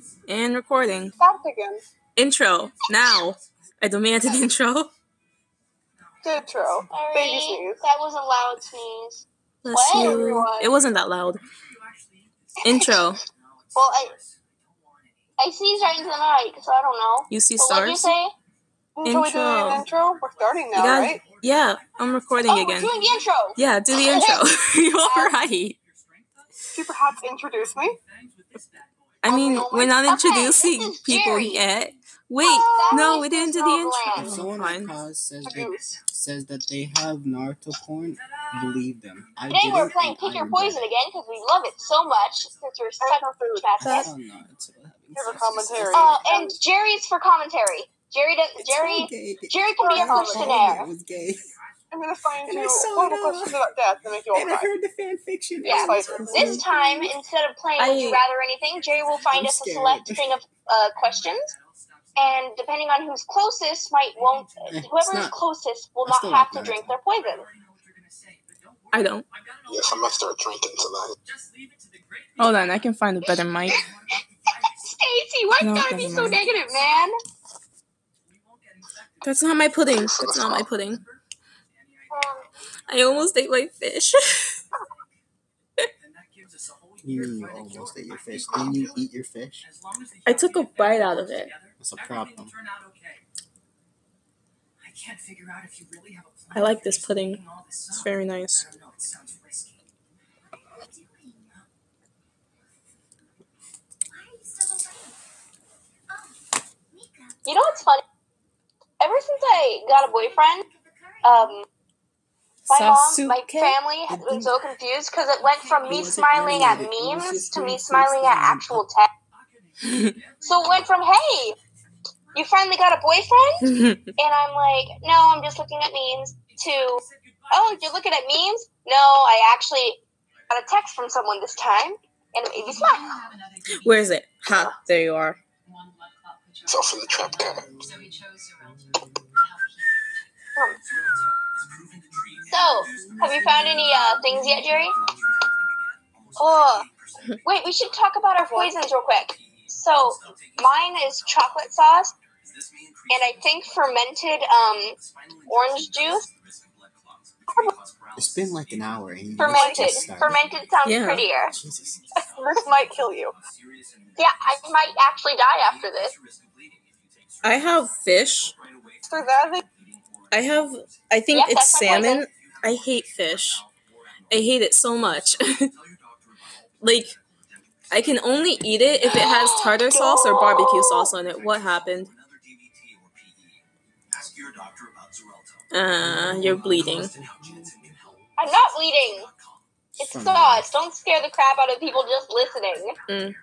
And recording. Stopped again. Intro. Now. I demand an intro. Intro. Baby sneeze. That was a loud sneeze. Bless What? you. It wasn't that loud. Intro. Well, I sneezed right into the mic, so I don't know. You see But what'd you stars? say? Shall we do an intro? We're starting now, right? Yeah, I'm recording Oh, again. we're doing the intro. Yeah, do the intro. You're alright. Could you perhaps introduce me? I mean, we're not introducing this is people Jerry. yet. Wait, no, we didn't do the If intro. Someone Fine. says that they have Naruto porn, believe them. Today we're playing Pick Your Poison again because we love it so much since we're such baskets. Give a commentary. And Jerry's for commentary. Jerry can be a questionnaire. It was gay. I'm going to find And you I saw horrible it. questions about death to make you all And I cry. heard the fan fiction. Yeah. Yes, This time, instead of playing Would You Rather or anything, Jerry will find I'm us a scared. select thing of questions. And depending on who's closest, whoever is closest will not have to drink their poison. I don't. Yes, I'm gonna start drinking tonight. Hold on, I can find a better mic. Stacy, why you gotta be so negative, man? That's not my pudding. That's not my pudding. I almost ate my fish. You almost ate your fish. Didn't you eat your fish? I took a bite out of it. That's a problem. I like this pudding. It's very nice. You know what's funny? Ever since I got a boyfriend, my family has been so confused because it went from me smiling at memes to me smiling at actual text. So it went from, hey, you finally got a boyfriend? And I'm like, no, I'm just looking at memes, to, oh, you're looking at memes? No, I actually got a text from someone this time, and it made me smile. Where is it? Ha, there you are. It's off in the trap can. So, have you found any things yet, Jerry? Oh, wait, we should talk about our poisons real quick. So, mine is chocolate sauce, and I think fermented orange juice. It's been like an hour. And you Fermented. just started. Fermented sounds Yeah. prettier. Jesus. This might kill you. Yeah, I might actually die after this. I have fish. So that I think Yeah, it's that's my salmon. poison. I hate fish. I hate it so much. Like, I can only eat it if it has tartar sauce or barbecue sauce on it. What happened? You're bleeding. I'm not bleeding. It's sauce. Don't scare the crap out of people just listening.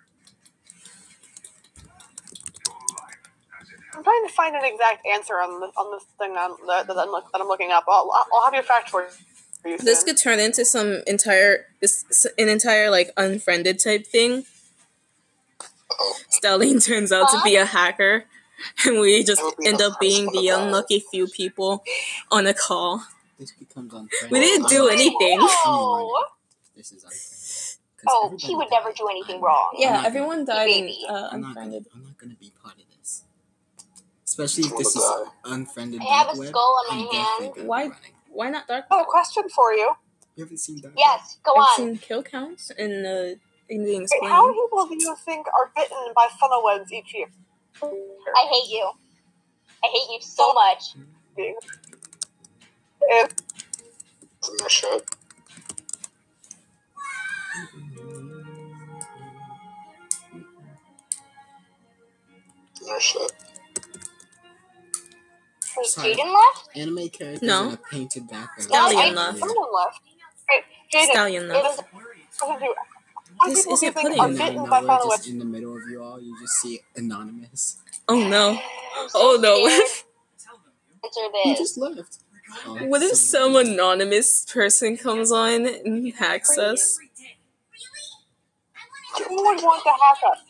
I'm trying to find an exact answer on this thing that I'm looking up. I'll have your fact for you soon. This could turn into an entire like unfriended type thing. Stelline turns out to be a hacker, and we just end up being the unlucky few people on a call. This becomes unfriendly. We didn't do anything. Oh, This is unfriendly. he would never do anything wrong. Yeah, everyone died Baby. and I'm not unfriended. gonna be part of this. Especially if this is unfriended. I have dark a web, skull on I'm my definitely hand. gonna be Why? running. Why not dark? I have a question for you. You haven't seen Dark Web? Yes, go I've on. seen kill counts in the Wait, explained. how many people do you think are bitten by funnel webs each year? I hate you. I hate you so much. It's in their shirt. In their shirt. Wait, Sorry. Jaden left? Anime characters No. in a painted background. Stallion No, left. Someone left. Wait, Jaden, Stallion left. how many This people do you isn't think pudding. are And bitten then by nowhere, funnel just webs? in the middle of you all, you just see Anonymous. Oh no. I'm so Oh no. scared. Answer He this. just left. Oh, What if some anonymous person comes on and hacks us? Who would want to hack us?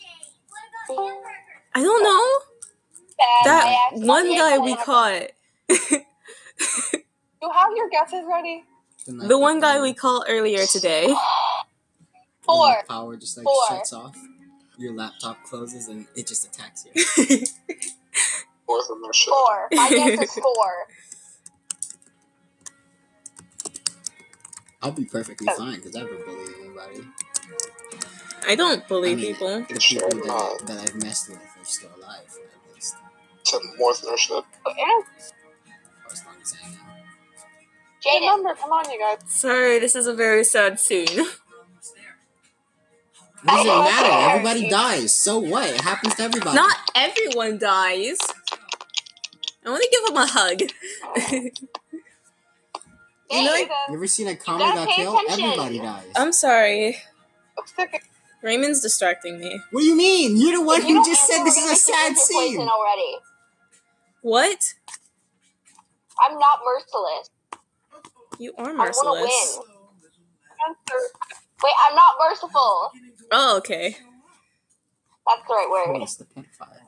I don't know. Bad. That I accidentally one guy we accidentally- caught. You have your guesses ready? The one guy we called earlier today. Four. Power just like Four. shuts off. Your laptop closes and it just attacks you. Fourth on my shit. 4. My guess is 4. I'll be perfectly fine because I never bully anybody. I don't bully I mean, people. The people that I've messed with are still alive, at least. Said more than our shit. And Or as long as I know. Jaden, remember, come on, you guys. Sorry, this is a very sad scene. What does it Oh, matter? okay. Everybody dies. So what? It happens to everybody. Not everyone dies. I want to give him a hug. You know, Jaden, You ever seen a gotta comet got pay killed? attention. Everybody dies. I'm sorry. I'm sick. Raymond's distracting me. What do you mean? You're the one if you who don't just answer, said we're this gonna is a make you sad lose your poison scene. already. What? I'm not merciless. You are I want to merciless. win. Answer. Wait, I'm not merciful. Oh, okay. That's the right word. Who's the pedophile?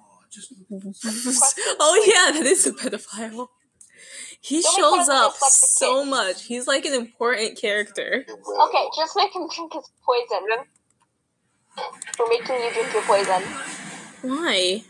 Oh yeah, that is a pedophile. He Don't make shows fun of up the dyslexic so kid. much. He's like an important character. Okay, just make him drink his poison. We're making you drink your poison. Why?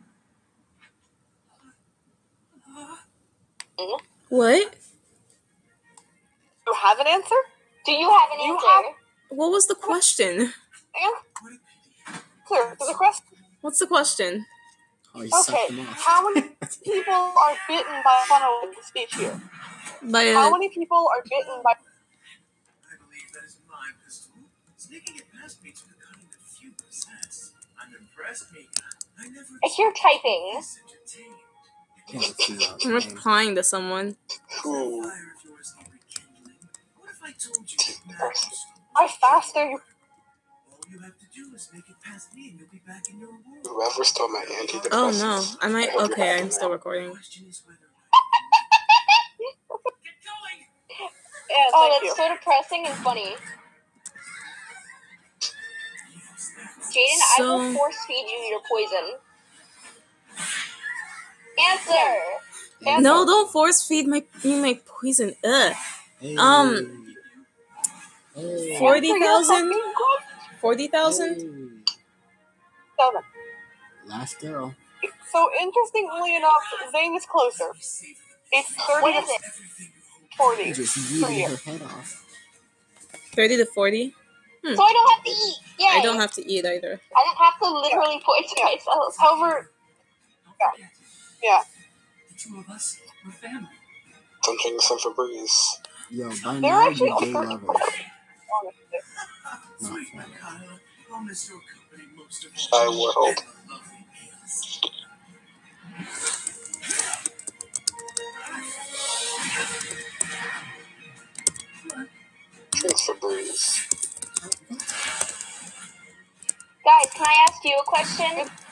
Mm? What? You have an answer? Do you have an You answer? have- What was the question? Answer to the question. What's the question? Oh, he sucked Okay, him off. how many people are bitten by a funnel in the speech here? By How a, many people are bitten by... I believe that is my pistol. Sneaking it past me took a cunning of few possess. I'm impressed, Mika. I never If you're typing, this entertained. Yeah, let's see that. I'm replying to someone. Ooh. Fire of yours need rekindling. What if I told you to snap the store? How fast are you? All you have to do is make it past me and you'll be back in your room. Whoever stole my antidepressants. Oh no, I might. hope you're Okay, happy I'm still now. recording. The question is whether get going. Yeah, oh, thank that's you. so depressing and funny. Jaden, I will So- force feed you your poison. Answer. Hey, No, don't force feed me my poison. Ugh. Hey. Hey. 40,000? Answer your fucking 40,000? Hey. question. Last girl. So, interestingly enough, Zane is closer. It's 30 What to is it? 40. You just for yeeted you. her head off. 30 to 40? So I don't have to eat. Yay. I don't have to eat either. I don't have to literally poison Yeah. myself. However, yeah. The two of us, we're family. I'm drinking some Febreze. Yo, by They're now actually you're gay offered- lovers. Not Sweet funny. Kyla, I'll miss your company most of I all. would hope. Lovely meals. Drink Febreze. Guys, can I ask you a question?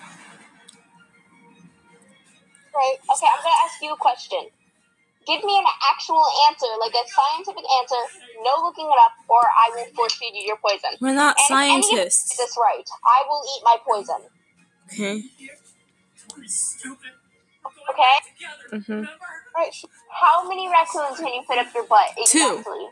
Right. Okay, I'm gonna ask you a question. Give me an actual answer, like a scientific answer, no looking it up, or I will force feed you your poison. We're not And if any of you scientists. get this right, I will eat my poison. Okay. Stupid. Okay? Mm-hmm. Right. How many raccoons can you fit up your butt? Exactly.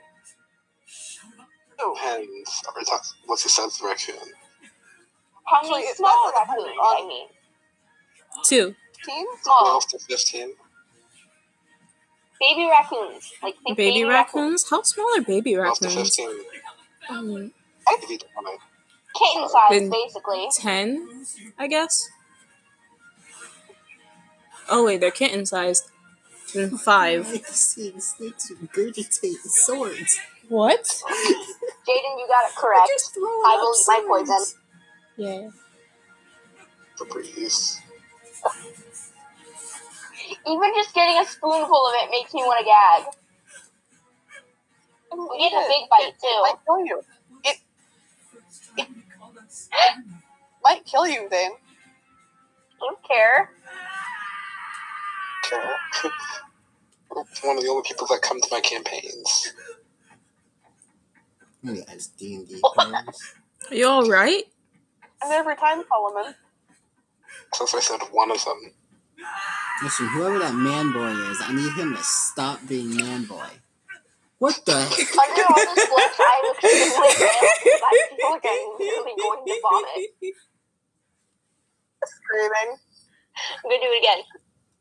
Depends. Are we talking, what's the size of the raccoon? How many Actually, small it's- raccoons? I mean, 2. 15? small 12 to 15? baby raccoons. Like think Baby raccoons? How small are baby 12 to raccoons? 15. Um, Maybe 20. Kitten size, Then- basically. 10, I guess. Oh wait, they're kitten sized. Then 5. Like seeing snakes regurgitate swords. What? Jaden, you got it correct. Just throwing I up will eat my swords. poison. Yeah. Febreze. Even just getting a spoonful of it makes me want to gag. We need a big bite It might too. kill you. It might kill you, Zane. Don't care. Okay. One of the only people that come to my campaigns. Oh, yeah, it's D&D players. Are you alright? And every time, Solomon. Since I said one of them. Listen, whoever that man boy is, I need him to stop being man boy. What the? Under all this blush, I look extremely pale because I feel like I'm literally going to vomit. Screaming. I'm gonna do it again.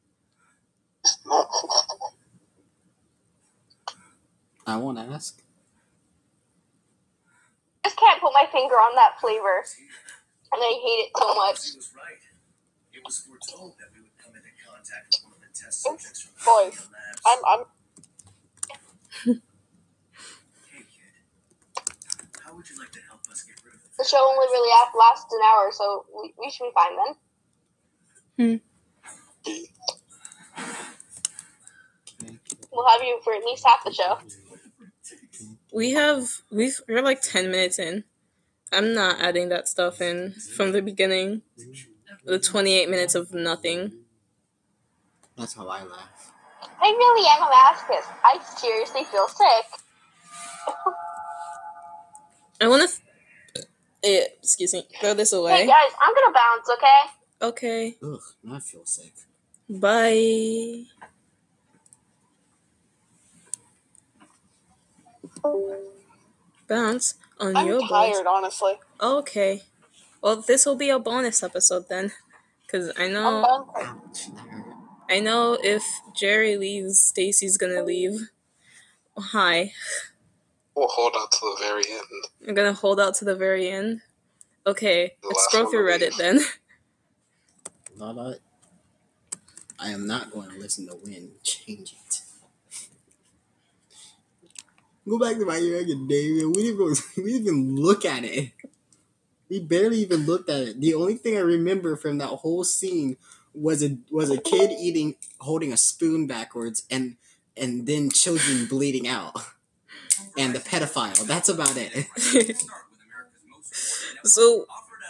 I won't ask. I just can't put my finger on that flavor, and I hate it so much. He was right. It was foretold that we would come into contact with one of the test subjects from Boys, the labs. I'm Hey, kid. How would you like to help us get rid of The show only really lasts an hour, so we should be fine then. We'll have you for at least half the show. We're like 10 minutes in. I'm not adding that stuff in from the beginning. The 28 minutes of nothing. That's how I laugh. I really am a masochist. I seriously feel sick. I want to. Excuse me. Throw this Hey away. guys, I'm gonna bounce, okay? Okay. Ugh, now I feel sick. Bye. Bounce on your I'm balls. tired, honestly. Okay. Well, this will be a bonus episode then, because I I'm know done. Ouch, that hurt. I know if Jerry leaves, Stacy's gonna leave. Hi. We'll hold out to the very end. I'm gonna hold out to the very end. Okay, The let's last scroll one through to Reddit leave. then. Lala, I am not going to listen to Win. Change it. Go back to My Hero Academia. We didn't even look at it. We barely even looked at it. The only thing I remember from that whole scene was a kid holding a spoon backwards, and then children bleeding out, and the pedophile. That's about it. So,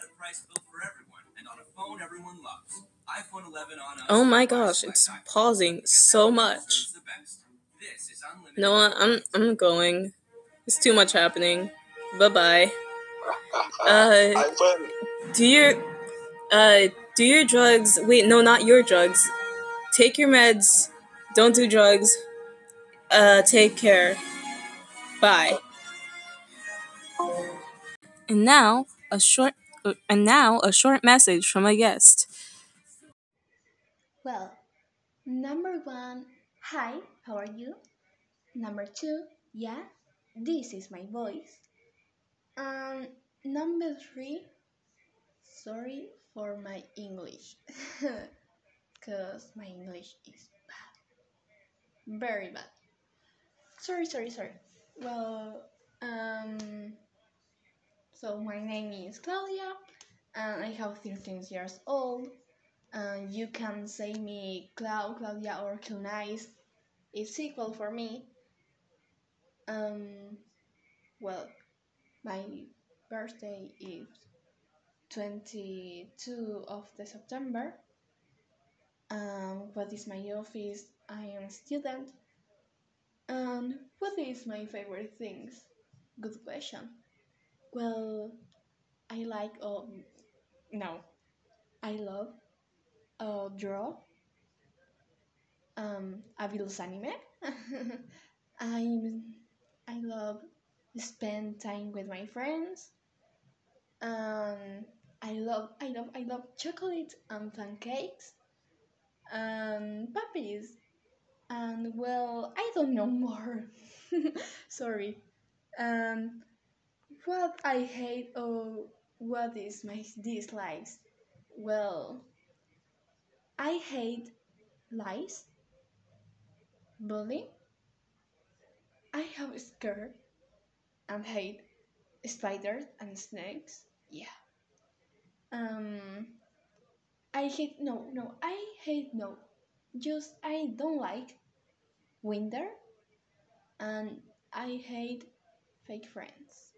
oh my gosh, it's pausing so much. No, I'm going. It's too much happening. Bye bye. I win. Do your drugs. Wait, no, not your drugs. Take your meds. Don't do drugs. Take care. Bye. And now a short message from a guest. Well, number one, hi, how are you? Number two, yeah, this is my voice. Number three, sorry for my English, because my English is bad, very bad. Sorry. Well, so my name is Claudia, and I have 13 years old. You can say me Claudia, or Nice. It's equal for me. Well, my birthday is 22 of the September. What is my office? I am a student. And what is my favorite things? Good question. Well, I like no, I love draw. Abilus anime. I love spend time with my friends. I love chocolate and pancakes and puppies. And well, I don't know more. Sorry. And what I hate or what is my dislikes? Well, I hate lies, bullying. I have scared and hate spiders and snakes. Yeah. Um, I hate no. Just I don't like winter, and I hate fake friends.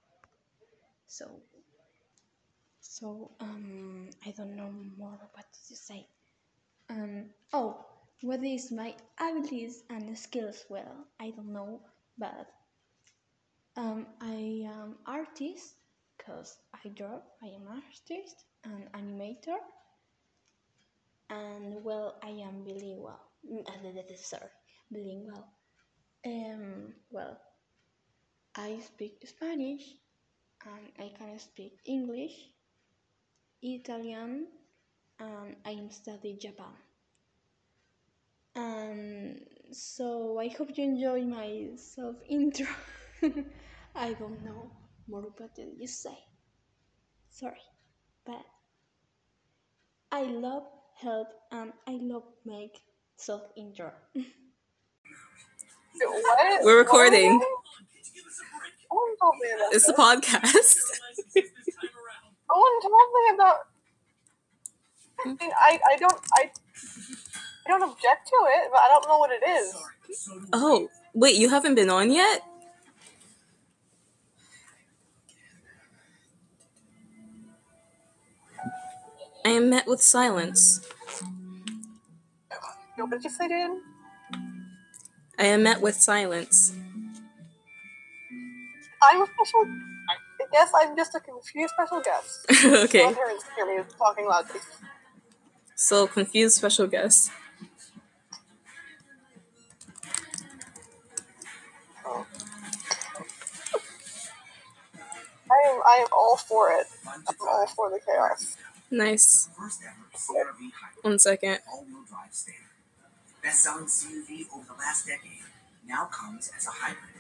So I don't know more what to say. Oh, what is my abilities and skills? Well, I don't know, but I am artist because I draw. I am artist and animator, and well, I am bilingual. Sorry, bilingual. Well, I speak Spanish and I can speak English, Italian, and I study Japan. So I hope you enjoy my self intro. I don't know more what did you say. Sorry, but I love help and I love make self intro. What? We're recording. No one told me about It's a this. podcast. No one told me about. I mean, I don't object to it, but I don't know what it is. Oh, wait, you haven't been on yet? I am met with silence. What did you say, Dan? I am met with silence. I'm a special. I guess I'm just a confused special guest. Okay, My parents hear me talking loudly. so confused special guest. I am all for it. I'm all for the chaos. Nice. First ever CRV hybrid 1 second. all-wheel drive standard. Best-selling CUV over the last decade now comes as a hybrid.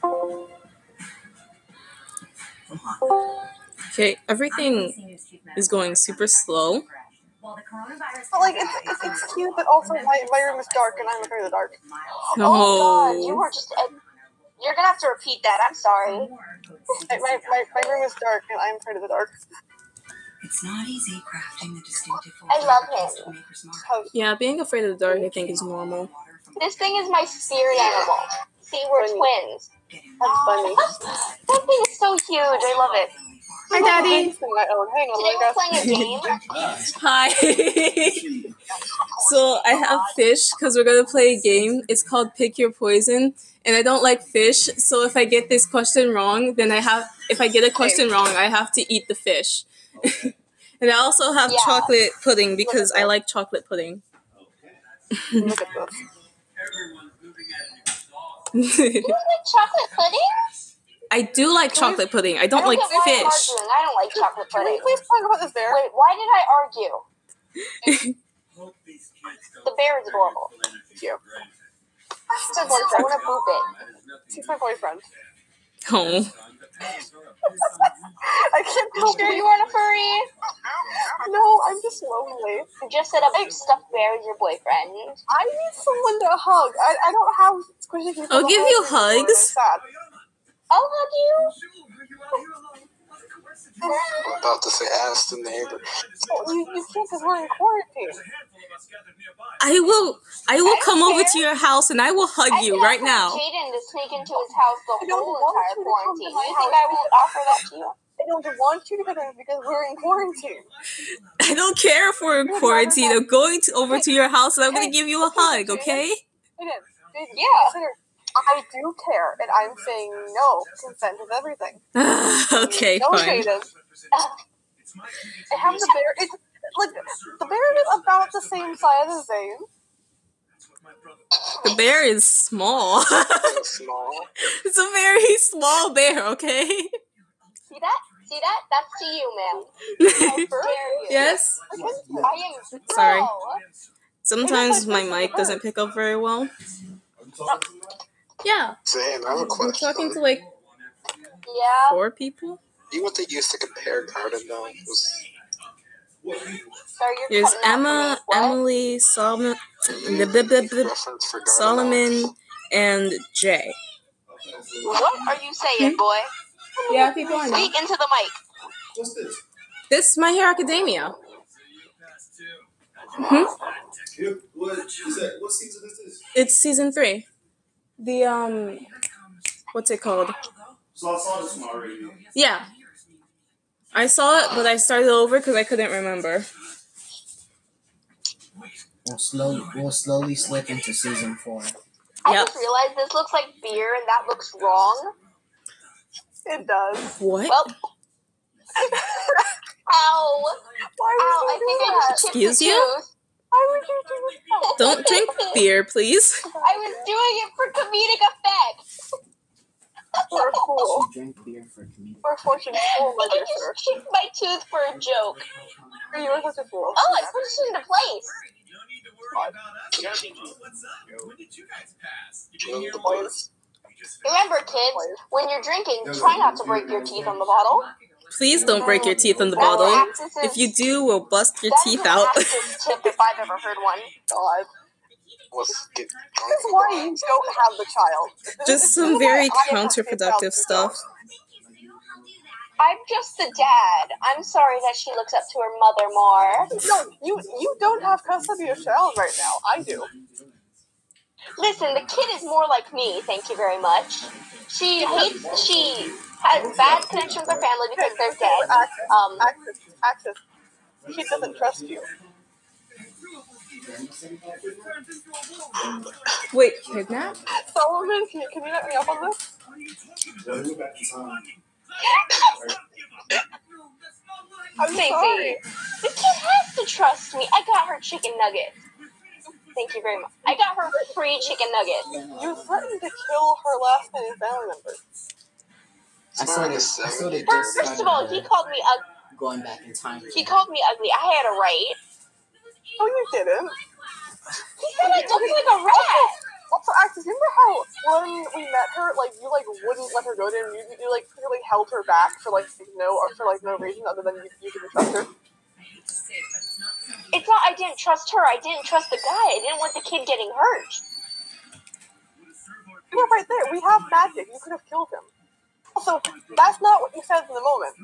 From Honda. Okay, everything is going super slow. But like, it's cute, but also my room is dark and I'm afraid of the dark. Oh God, you Oh, were just. You're gonna have to repeat that. I'm sorry. My room is dark and I'm afraid of the dark. It's not easy crafting the distinctive I love him. Maker's Mark. How yeah, being afraid of the dark I think is normal. This thing is my spirit animal. See, we're twins. that's funny. That thing is so huge. I love it. Hi, Daddy. Hang on, Today we're playing a game. Hi. So I have fish because we're gonna play a game. It's called Pick Your Poison, and I don't like fish. So if I get this question wrong, then if I get a question wrong, I have to eat the fish. And I also have Yeah. chocolate pudding because I like chocolate pudding. Look at this. You like chocolate pudding? I do like chocolate pudding. I don't like get why you're fish. arguing. I don't like chocolate Can we pudding. please talk about this bear? Wait, why did I argue? The bear is adorable. Cute. I want to boop it. He's my boyfriend. Oh. I can't tell Sure you aren't a furry? No, I'm just lonely. You just set up stuffed bear as your boyfriend. I need someone to hug. I don't have squishy people. I'll to give hug you me anymore, and I'm hugs. sad. I'll hug you. I'm about to say ask the neighbor. Well, you can't because we're in quarantine. I will come over to your house and I will hug you right now. Jaden to sneak into his house the I don't whole want entire you to come to quarantine. my You house. think I won't offer that to you? I don't want you to come in because we're in quarantine. I don't care if we're in quarantine. I'm going over to your house and I'm going to give you a hug, okay? Jaden, Yeah. consider, I do care, and I'm saying no. Consent is everything. Okay, No, fine. Jaden. I have the bear. It's like the bear is about the same size as Zane. The bear is small. It's small. It's a very small bear, okay? See that? See that? That's to you, ma'am. How dare you? Yes? I am Sorry. no. Sometimes my mic doesn't pick up very well. Yeah, Zane, I have a I'm question. talking to like Yeah. 4 people. You know what they used to compare garden gnomes? Sorry, you're There's cutting out Emma, for me. What? Emily, Solomon, Reference for garden Solomon, gnomes? and Jay. What are you saying, boy? Yeah, people I know. Speak into the mic. What's this? This is My Hero Academia. What is that? What season is this? It's season 3. The what's it called? So I saw this one already. Yeah, I saw it, but I started over because I couldn't remember. We'll slowly slip into season 4. I Yep. just realized this looks like beer and that looks wrong. It does. What? Well. Ow. Why Ow, would I you think do I that? just chipped Excuse the you? tooth. Why would you do that? Don't drink beer, please. I was doing it for comedic effect. We're cool. She drank beer for comedic. We're Poor fortune full You ledger, just sir. chipped my tooth for a joke. You were such a fool. Oh, I put it into place. No need to worry about us. What's up? When did you guys pass? You Join didn't the hear boys. Remember, kids, when you're drinking, try not to break your teeth on the bottle. Please don't break your teeth in the That's bottle. Axis's- If you do, we'll bust your that is teeth an out. Axis tip if I've ever heard one. God. Let's get This is why you don't have the child. Just some very I have to counterproductive stay stuff. I'm just the dad. I'm sorry that she looks up to her mother more. No, you don't have custody of child right now. I do. Listen, the kid is more like me, thank you very much. She has bad connection with her family because they're dead. Access. He doesn't trust you. Wait, kidnap? Solomon, can you let me up on this? I'm Stacey, sorry. the kid has to trust me. I got her chicken nuggets. Thank you very much. I got her free chicken nuggets. You threatened to kill her last name family member. I sort of just First of all, he called me ugly. going back in time. He called me ugly. I had a right. Oh, you didn't. He said I looked like a rat. Also, Axis, remember how when we met her, like you wouldn't let her go there, and you like clearly held her back for no reason other than you didn't trust her. It's not I didn't trust her. I didn't trust the guy. I didn't want the kid getting hurt. You're right there. We have magic. You could have killed him. Also, that's not what you said in the moment.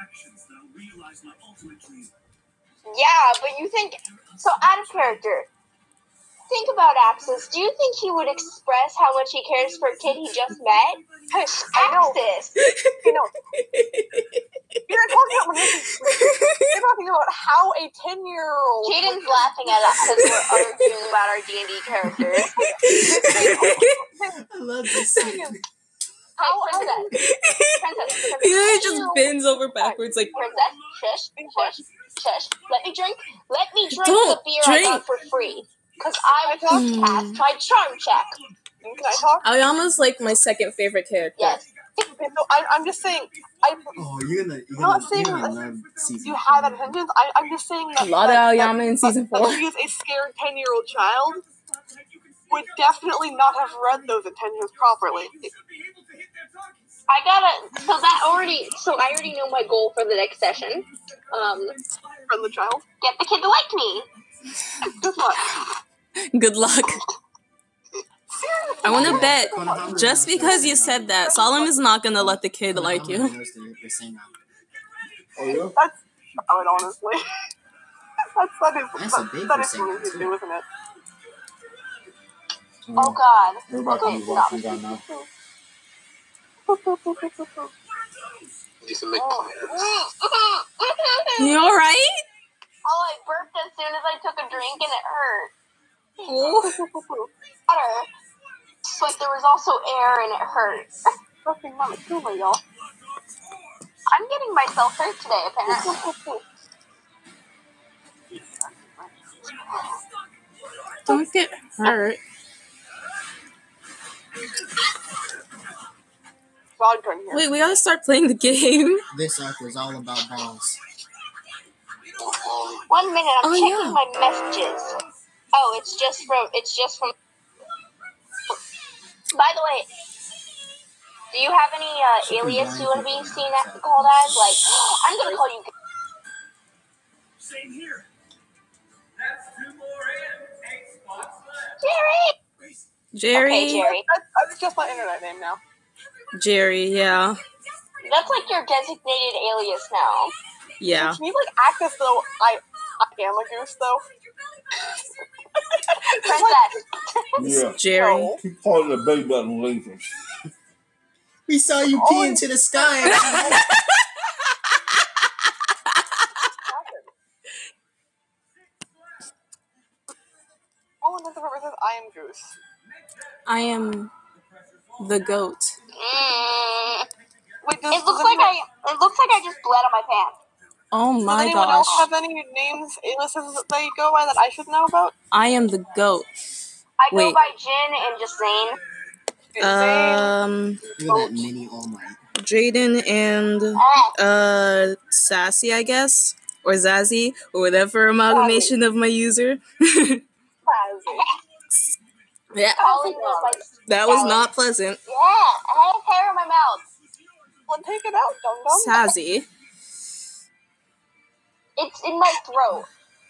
Yeah, but you think so out of character. Think about Axis. Do you think he would express how much he cares for a kid he just met? I know. Axis. You know, you're talking about how a 10-year-old. Jaden's laughing at us because we're arguing about our D&D characters. I love this scene. Princess. He literally just bends over backwards like, Princess, shush. Let me drink Don't the beer I got drink. for free. Because I was cast my charm check. Can I talk? Aoyama's like my second favorite character. Yes. Okay, so I'm just saying. Oh, you're gonna not saying love season you have 4. intentions. I'm just saying that A lot of that Aoyama in season 4. she is a scared 10-year-old child. Would definitely not have read those intentions properly. So I already know my goal for the next session. From the child. Get the kid to like me. Good luck. Good luck. I want to bet, just because you said that, Solemn is not going to let the kid like you. Oh, yeah? That's valid, honestly. That's a big that is percent, what you do, isn't it? Oh God. We're about to Okay, be stop. walking down now. Need to make plans. You alright? Oh, I burped as soon as I took a drink and it hurt. Oh. Water. But there was also air and it hurt. Fucking mama, kill me, y'all. I'm getting myself hurt today, apparently. Don't get hurt. Dog turn here. Wait, we gotta start playing the game. This arc was all about balls. 1 minute, I'm Oh, checking yeah. my messages. Oh, it's just from. By the way, do you have any alias you want to be seen called as? Like, I'm gonna call you. Same here. That's 2 more in. 8 spots left. Jerry. Jerry. Okay, Jerry. That's just my internet name now. Jerry, yeah. That's like your designated alias now. Yeah. Can you act as though I am a goose though? Princess. Yeah. Jerry. No. Keep calling the belly button lasers. We saw you pee into the sky. All intents and purposes, I am goose. I am the goat. Wait, It looks like I just bled on my pants. Oh Does my anyone gosh. else have any names, aliases that they go by that I should know about? I am the goat. I go Wait. by Jin and Jasane. Um, Look at that mini All Might. Jaden and Sassy, I guess, or Zazzy, or whatever amalgamation of my user. Fuzzy. Yeah, Calling was like, that was not pleasant. yeah, I have hair in my mouth. Well, take it out, Dum Dum. Sassy. It's in my throat.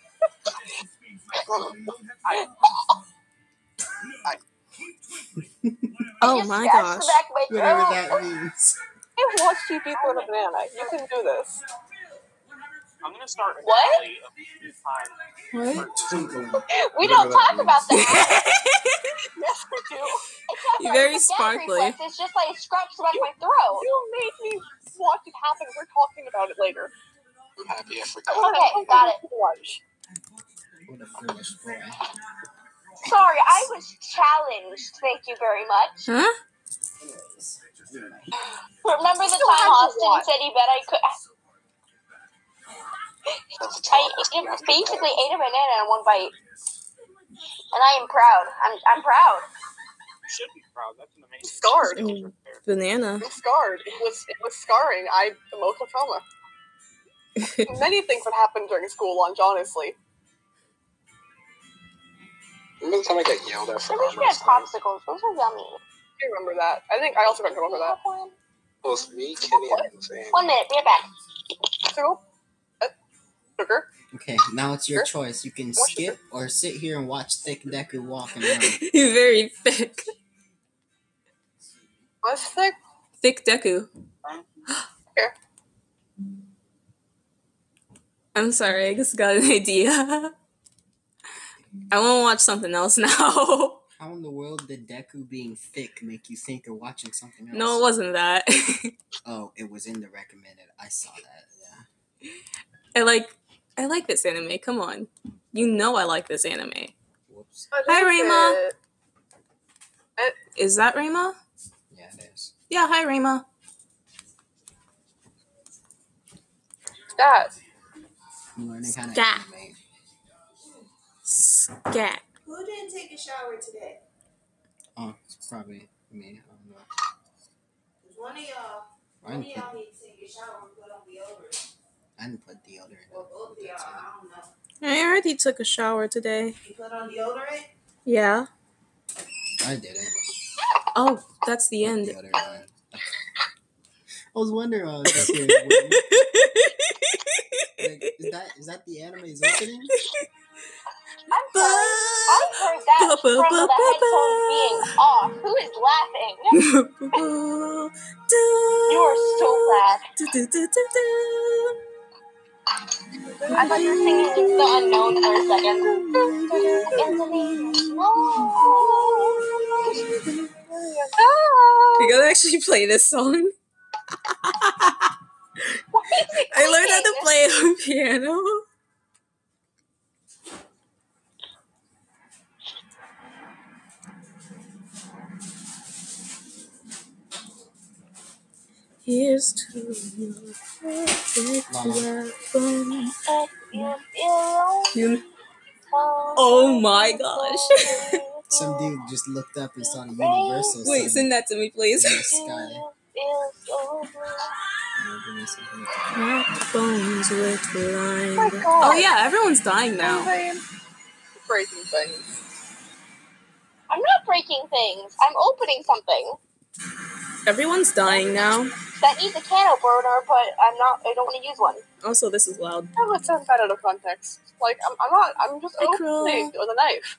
Oh Just my scratch gosh. the back of my Whatever throat. that means. I watched you eat with a banana. You can do this. I'm gonna start a What? tally of the time. What? We don't talk about that. Yes, we do. It's not You're like very a gag sparkly. reflex, it's just like it scratched the back of my throat. You made me watch it happen. We're talking about it later. I'm happy I forgot. Okay, got it. Lunch. What a foolish boy. Sorry, I was challenged. Thank you very much. Huh? Anyways. Remember the Still time had to Austin watch. said he bet I could? That's I basically ate a banana in one bite, and I am proud. I'm proud. You should be proud. That's an amazing. Scarred. Mm, banana. I'm scarred. It was scarring. I emotional trauma. Many things that happened during school lunch, honestly. Remember the time I got yelled at for I wish we arm had wrestling? popsicles. Those are yummy. I remember that. I think I also got in trouble for that. It was me, Kenny, and Zane. 1 minute, be right back. So, sugar. Okay, now it's your choice. You can skip or sit here and watch Thick Deku walk and run. You're very thick. What's thick? Thick Deku. Here. I'm sorry, I just got an idea. I want to watch something else now. How in the world did Deku being thick make you think of watching something else? No, it wasn't that. Oh, it was in the recommended. I saw that, yeah. I like this anime. Come on. You know I like this anime. Whoops. Hi, Rayma. It. Is that Rayma? Yeah, it is. Yeah, hi, Rayma. That. I'm learning how to Scat. animate. Scat. Who didn't take a shower today? Oh, it's probably me. I don't know. Because one of y'all need to take a shower and put on deodorant. I didn't put deodorant Or on. both of y'all, I don't know. I already took a shower today. You put on deodorant? Yeah. I didn't. Oh, that's the Put end. deodorant on. I was wondering when I was just here. Like, is that the anime's opening? I'm sorry. I heard that from the headphones being off. Who is laughing? You are so bad. I thought you were singing It's the Unknown for a second. In the name of We gotta actually play this song. I learned how to play on piano. Here's to your perfect weapon. Oh my gosh. Some dude just looked up and saw the Universal Wait, sign send that to me, please. in the sky. Cracked bones reclined. Oh my God. Oh yeah, everyone's dying now. Breaking things. I'm not breaking things. I'm opening something Everyone's dying now. that needs a can opener, but I don't want to use one. Also, this is loud. I would send that out of context. Like, I'm just Hi, Crow. opening with a knife.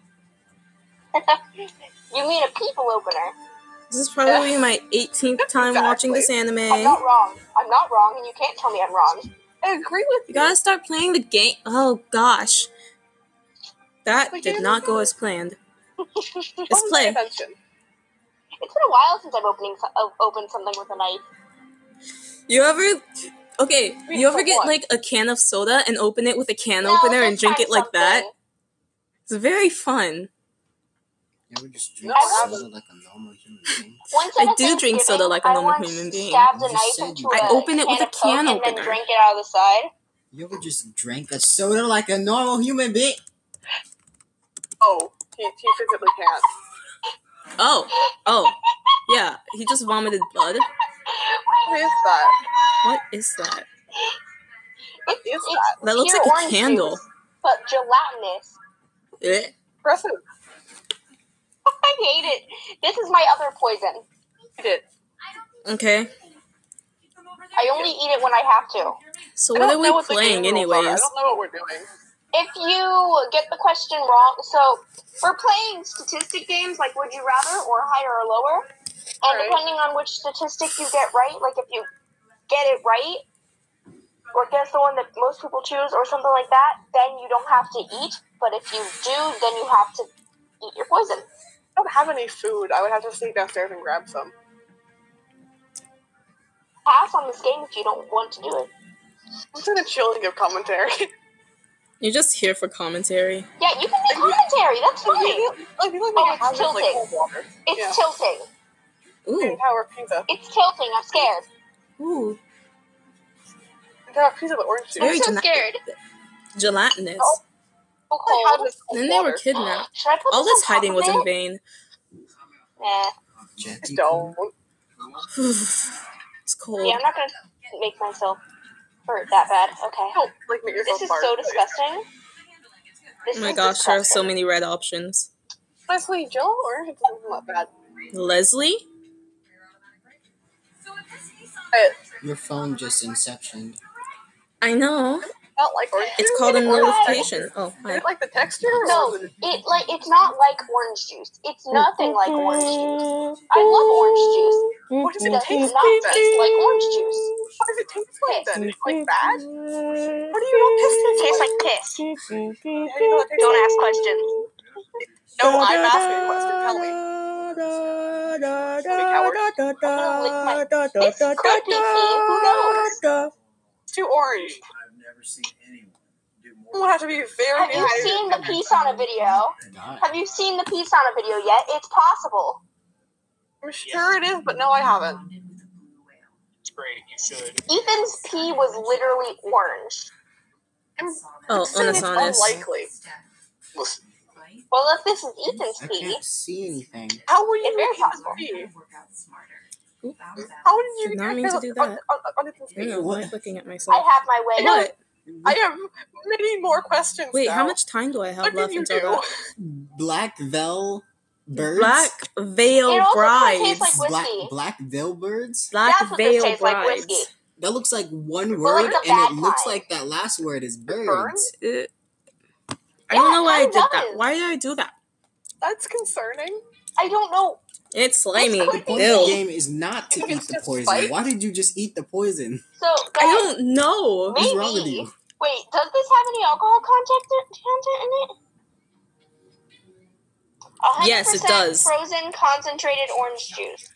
You mean a people opener? This is probably my 18th time watching this I'm anime. not wrong. I'm not wrong, and you can't tell me I'm wrong. I agree with You gotta start playing the game. Oh gosh. That The did game not is go good. as planned. Let's Pay play. attention. It's been a while since I've opened something with a knife. You ever... Okay, you ever like get what? like a can of soda and open it with a can No, opener and this drink time it like that? something. It's very fun. You ever just drink No, soda like a normal human being? Once I at a do drink Thanksgiving, soda like a I normal once human being. stabbed a You knife said into you a I open it with a of Coke can and opener. then drank it out of the side. You ever just drank a soda like a normal human being? Oh, he physically can't. Oh. Yeah, he just vomited blood. What is that? What is that? What is It's that? That looks pure like a orange candle. juice, but gelatinous. Eh. Impressive. I hate it. This is my other poison. Eat it. Okay. I only eat it when I have to. So I what don't are know we what the playing game rules are. I anyways? don't know what we're doing. If you get the question wrong, so we're playing statistic games like Would You Rather or Higher or Lower. And Right. depending on which statistic you get right, like if you get it right, or guess the one that most people choose or something like that, then you don't have to eat. But if you do, then you have to eat your poison. I don't have any food. I would have to sneak downstairs and grab some. Pass on this game if you don't want to do it. I'm just gonna chill and give commentary. You're just here for commentary. Yeah, you can make commentary. That's fine. Like, you Oh, it's have this, like, tilting. cold water. It's Yeah. tilting. Ooh. Tower pizza. It's tilting. I'm scared. Ooh. Tower pizza with orange juice. Very I'm so gela- scared. Gelatinous. Oh. So I had cold. this cold Then they were water. kidnapped. Should I put All this this on top hiding of was in it? vain. Nah. Just don't. It's cold. Yeah, I'm not gonna make myself hurt that bad. Okay. Don't, like, make yourself This is barf. so disgusting. This Oh my is gosh, there are so disgusting. many red options. Honestly, Jello orange is not bad. Leslie? But Your phone just inceptioned. I know. I don't like orange It's juice. called a I don't like the notification. texture. Oh, Is hi. it like the texture? No, Or is it... it's not like orange juice. It's nothing like orange juice. I love orange juice. What does It it does taste not like taste like orange juice. What does it taste like then? It's like bad? What do you It know piss tastes tastes like piss. How do you know it tastes Don't like? ask questions. No, I'm asking a question. Tell me. This could be pee. Who knows? It's too orange. I've never seen anyone do It more. would have to be very Have you dehydrated. seen the piece on a video? God. Have you seen the piece on a video yet? It's possible. I'm sure it is, but no, I haven't. It's great. You should. Ethan's pee was literally orange. Oh, Saying it's Unisonus. unlikely. Listen, Well, if this is Ethan's I pee, can't see anything. How would you It's very make possible. pee? Oop. How did you Did not get mean to on- do on- that. on Ethan's I don't pee? know why I'm looking at I myself. have my way. What? I have many more questions Wait, now. how much time do I have What left did you until do? that? Black Veil Birds? Black Veil It also Brides. tastes like Black, whiskey. black Veil Birds? Black That's what this Veil tastes like, Brides. whiskey. That looks like one But word, like the and it bad looks kind. like that last word is birds. Burns? I don't Yeah, know why I it did that. does. Why did I do that? That's concerning. I don't know. It's slimy. This The could point be of the Ew. game is not to You think eat it's the just poison. spite? Why did you just eat the poison? So, I guys, don't know. What's wrong with maybe. you? Wait, does this have any alcohol content in it? 100% Yes, it does. Frozen concentrated orange juice.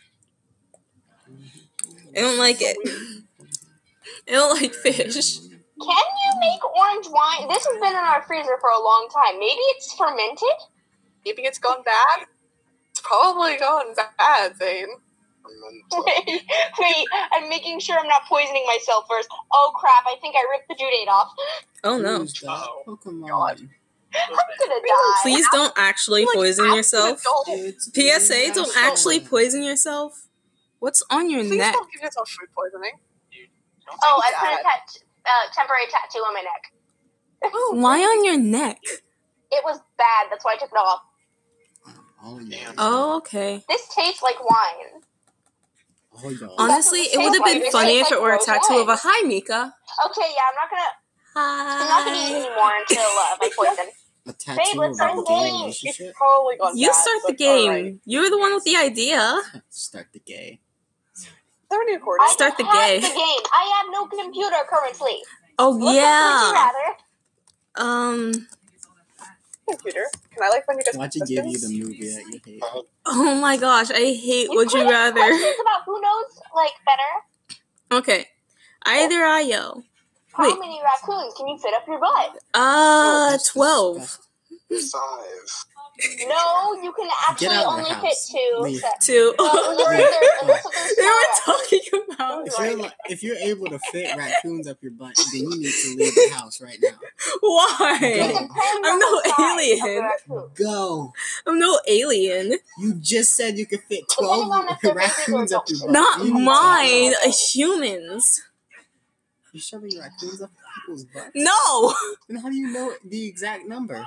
I don't like it. I don't like fish. Can you make orange wine? This has been in our freezer for a long time. Maybe it's fermented? Maybe it's gone bad. It's probably gone bad, Zane. Wait, I'm making sure I'm not poisoning myself first. Oh crap, I think I ripped the due date off. Oh no. Who's that? Oh, Pokemon. God. I'm gonna die. Please don't actually Like, poison ask yourself. an adult. It's PSA, don't National. actually poison yourself. What's on your Please neck? don't give yourself food poisoning. Oh, I put Dad. a temporary tattoo on my neck. Why on your neck? It was bad, that's why I took it off. Oh, yeah. Oh, okay. This tastes like wine. Oh, y'all. Honestly, it would have been funny if it were a tattoo of a hi, Mika. Okay, yeah, I'm not gonna eat anymore until my poison. A tattoo let's of start a the gay game. relationship? It's probably gone You bad, start the but game. alright. You're the one with the idea. Start the gay. Is there any recording? I Start the have game. the game. I have no computer currently. Oh Look up yeah. Would You Rather. Computer. Can I like when you guys Watch it give you the movie that you hate. Oh my gosh, I hate Would You put in Rather. Questions about who knows like better. Okay. Either Ayo. How Wait. many raccoons can you fit up your butt? That's 12. disgusting. 5. No, you can actually out of the only fit house. two. Leave. Two. Well, They unless there's were small talking about If you're able to fit raccoons up your butt, then you need to leave the house right now. why. It Go. depends I'm on no the size of the alien. raccoon. Go. I'm no alien. You just said you could fit Depending 12 on if they're babies or raccoons up your butt. Not You need to mine. go. Humans. You're shoving raccoons up people's butts? No. Then how do you know the exact number?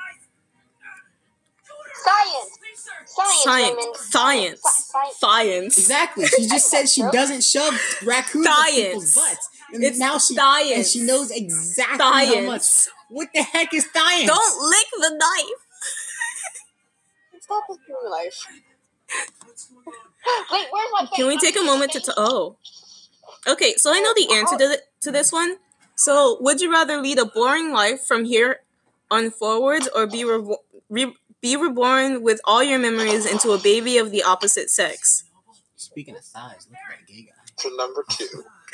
Science. Women. Science. Science. Exactly. She just said she doesn't shove raccoons up people's butts. And It's now science. And she knows exactly how much. Science. What the heck is science? Don't lick the knife. Stop with the knife. Wait, where's my face? Can we take a moment to oh. Okay, so I know the answer to this one. So, would you rather lead a boring life from here on forwards, or be reborn with all your memories into a baby of the opposite sex? Speaking of size, look at that gay guy. For number 2.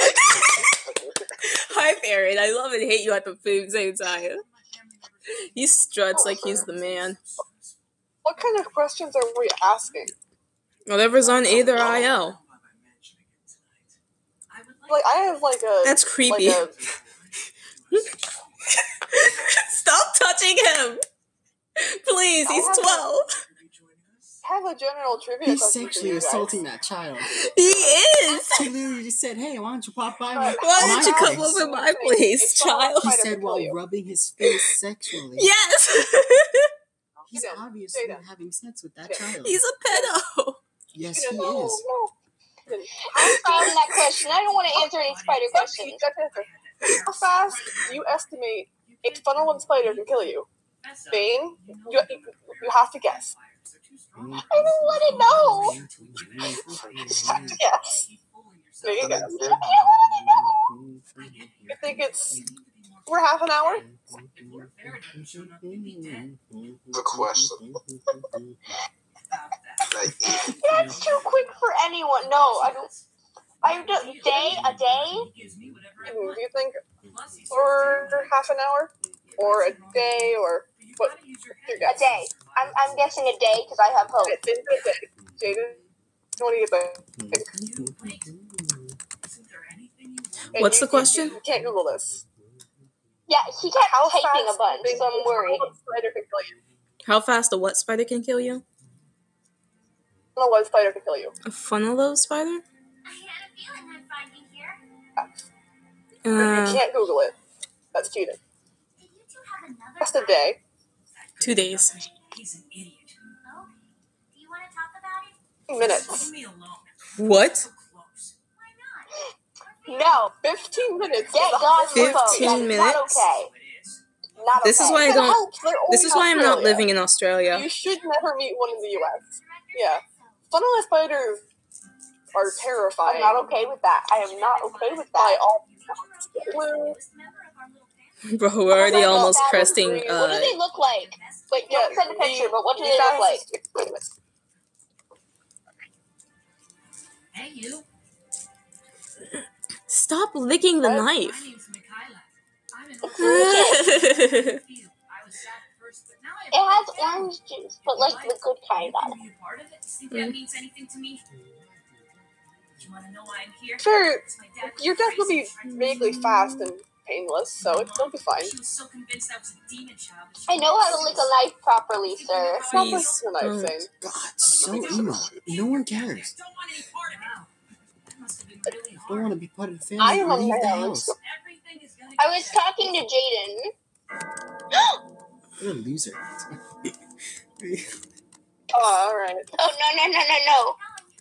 Hi, Farron. I love and hate you at the same time. He struts like he's the man. What kind of questions are we asking? Whatever's on either IL. Like, I have like a. That's creepy. Like Stop touching him! Please, he's 12. have a general trivia He's question for sexually you guys. assaulting that child. He is! He literally just said, "Hey, why don't you pop by my Why don't you come place?" over my place, child? He said while rubbing his face sexually. Yes! He's Jaden, obviously Jaden. having sex with that child. He's a pedo. Yes, Jaden, he no, is. no. I'm framing that question. I don't want to answer any spider questions. How fast do you estimate a funnel and spider can kill you? Bane, you have to guess. I don't want to know. Yes. There you go. I don't want to know. You think it's for half an hour? The question. That's too quick for anyone. No, I don't. A day? Do you think for half an hour? Or a day? Or what? Your A guess? day. I'm guessing a day because I have hope. Jaden, what do you think? And What's the question? You can't Google this. Yeah, he kept How typing a fast bunch, do you so I'm think worried. a spider can kill you? How fast a what spider can kill you? I don't know what spider can kill you. A funnel spider? You can't Google it. That's cheating. Just a day. 2 days. minutes. What? No. 15 minutes. Get God's 15 phone. That's minutes? not okay. Not This okay. is why I It don't. helps. They're This only is why I'm not Australia. living in Australia. You should never meet one in the U.S. Yeah. Funnel spiders are terrifying. I'm not okay with that. I am not okay with By that. all blue. Bro, we're already almost That was cresting. green. What do they look like? Wait, Yeah, don't send a picture, but what do they look like? Hey, you. Stop licking the What? My knife. name's Michaela. I'm an It's I delicious. was sad at first, but now I It has orange juice, but like the good kind on Can it. you be a part of it? Think that means anything to me? You want to know why I'm here? Sure, It's my dad was your death will be crazy and tried to vaguely fast and painless, so it'll be fine. She was so convinced I was a demon child. that she I know how to lick a knife properly, sir. Stop Please listening to the knife don't. thing. God, so emo. No one cares. don't want any part of it. That must have been really Don't hard. want to be part of the family. I am a Leave the man. house. Everything is gonna I get was better. talking to Jaden. What a loser. Oh, alright. Oh, no.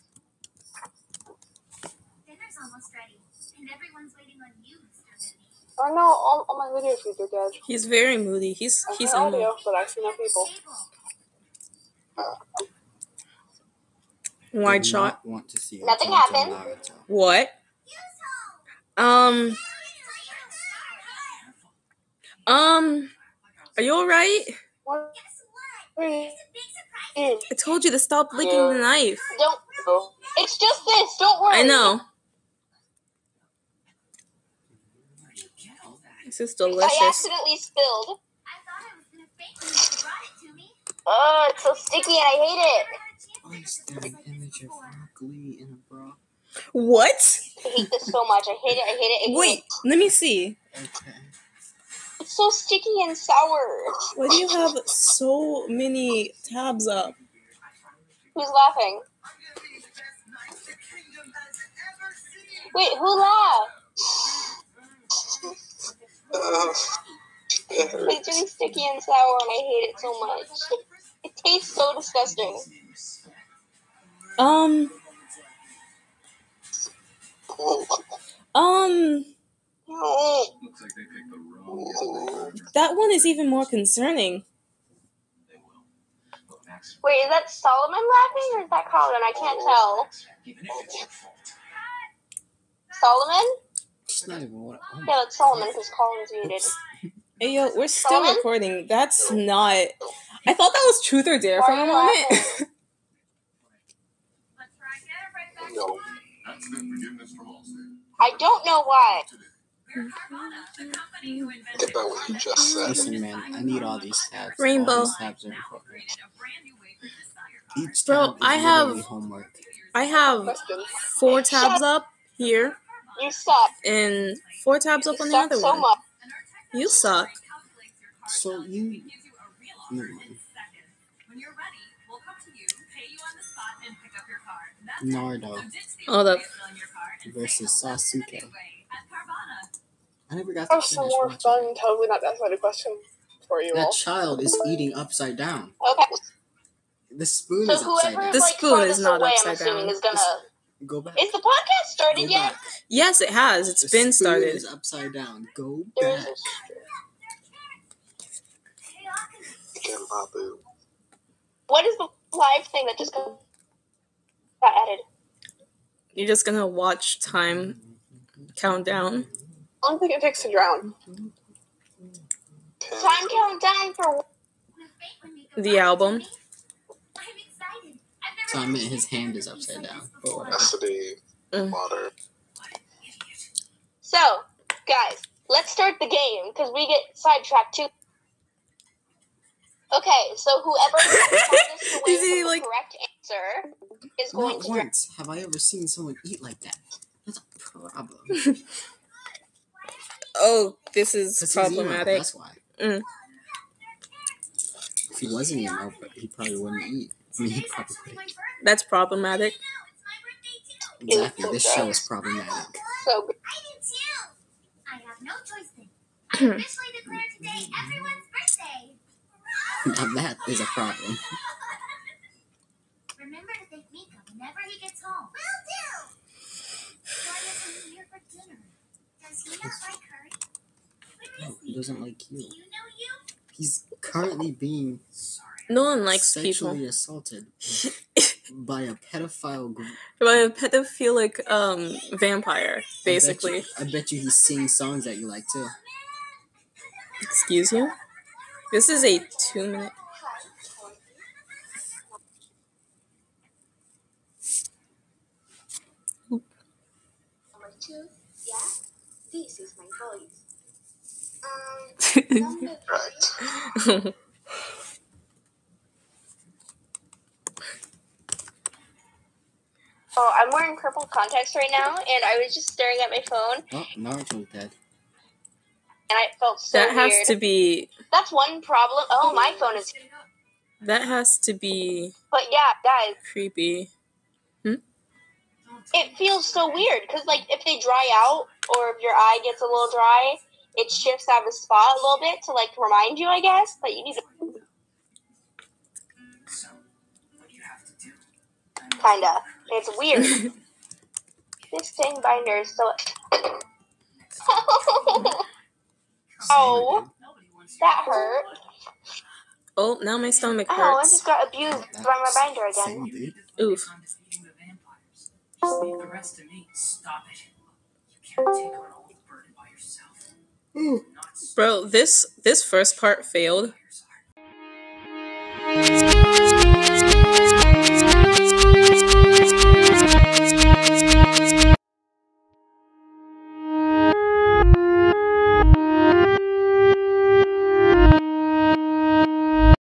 Dinner's almost ready, and everyone's waiting on you, Mr. Moody. Oh no, all my video feeds are dead. He's very moody. He's I emo. have audio, but I see no people. Wide Do shot. not want to see her Nothing turn to happened. Naruto. What? Are you alright? What? It's a big surprise. I told you to stop licking the knife. Don't. It's just this. Don't worry. I know. This is I delicious. accidentally spilled. I thought I was gonna faint when you brought it to me. Oh, it's so sticky and I hate it. Why is there an image of Rock Lee in a bra? What? I hate this so much. I hate it. I hate it. I hate Wait, it. let me see. Okay. It's so sticky and sour. Why do you have so many tabs up? Who's laughing? Wait, who laughed? It's really sticky and sour and I hate it so much. It tastes so disgusting. Um, No. that one is even more concerning. Wait, is that Solomon laughing or is that Colin? I can't tell. Solomon? It's not even what. Oh Yeah, it's Solomon because Colin's muted. Hey, yo, we're still Solomon? recording. That's not... I thought that was Truth or Dare Why for are a you moment. laughing? No. I don't know why. Get about what you just said. Listen, man, I need all these tabs. Rainbow. All these tabs are important. Each Bro, tab is I have- literally homework. I have Question. 4 tabs up here You suck. and 4 tabs up You on the suck other so one. much. You suck. So you. Never mind. Nardo Hold up. versus Sasuke. I never got to Have some finish more watching. fun. Totally not decided question for you That all. child is eating upside down. Okay. The spoon So is upside whoever down. The like spoon farthest is not away, upside I'm assuming, down. is gonna. Go back. Is the podcast started Go yet? back. Yes, it has. It's The been spoon started. is upside down. Go There's back. Get my boo. What is the live thing that just got added? You're just gonna watch time count down. How long do you think it takes to drown? Time countdown for The album. So I meant his hand is upside down. But whatever. Has to be water. So, guys, let's start the game because we get sidetracked too. Okay, so whoever is farthest away Is he, from the like- correct answer is going Not to drown. once have I ever seen someone eat like that. That's a problem. Oh, this is 'Cause he's emo, problematic. that's why. Mm. If he wasn't emo, he probably wouldn't eat. I mean, he probably would. That's problematic. Exactly. This show is problematic. So, I have no choice then. I officially declare today everyone's birthday. Now that is a problem. Remember to thank Mika whenever he gets home. Will do. Why isn't he here for dinner? Does he not like curry? Where No, is he he? doesn't like Do you. you know you? He's currently being No one likes sexually people. assaulted by a pedophile group. By a pedophilic vampire, basically. I bet you he sings songs that you like too. Excuse you? This is a 2-minute. Number 2, yeah? This is my voice. Number 3. Right. oh, I'm wearing purple contacts right now, and I was just staring at my phone, Oh, Naruto's dead. and I felt so That has weird. to be. That's one problem. Oh, my phone is. That has to be But yeah, guys, creepy. it feels so weird because, like, if they dry out or if your eye gets a little dry, it shifts out of the spot a little bit to, like, remind you, I guess, that you need to. So, what do you have to do? Kinda. It's weird. This thing binder is so. Oh, that hurt. Oh, now my stomach Oh, I hurts. just got abused by my binder again. Same, dude. Oof. Just leave the rest to me. Stop it. You can't take on all the burden by yourself. Not Bro, this first part failed. by yourself.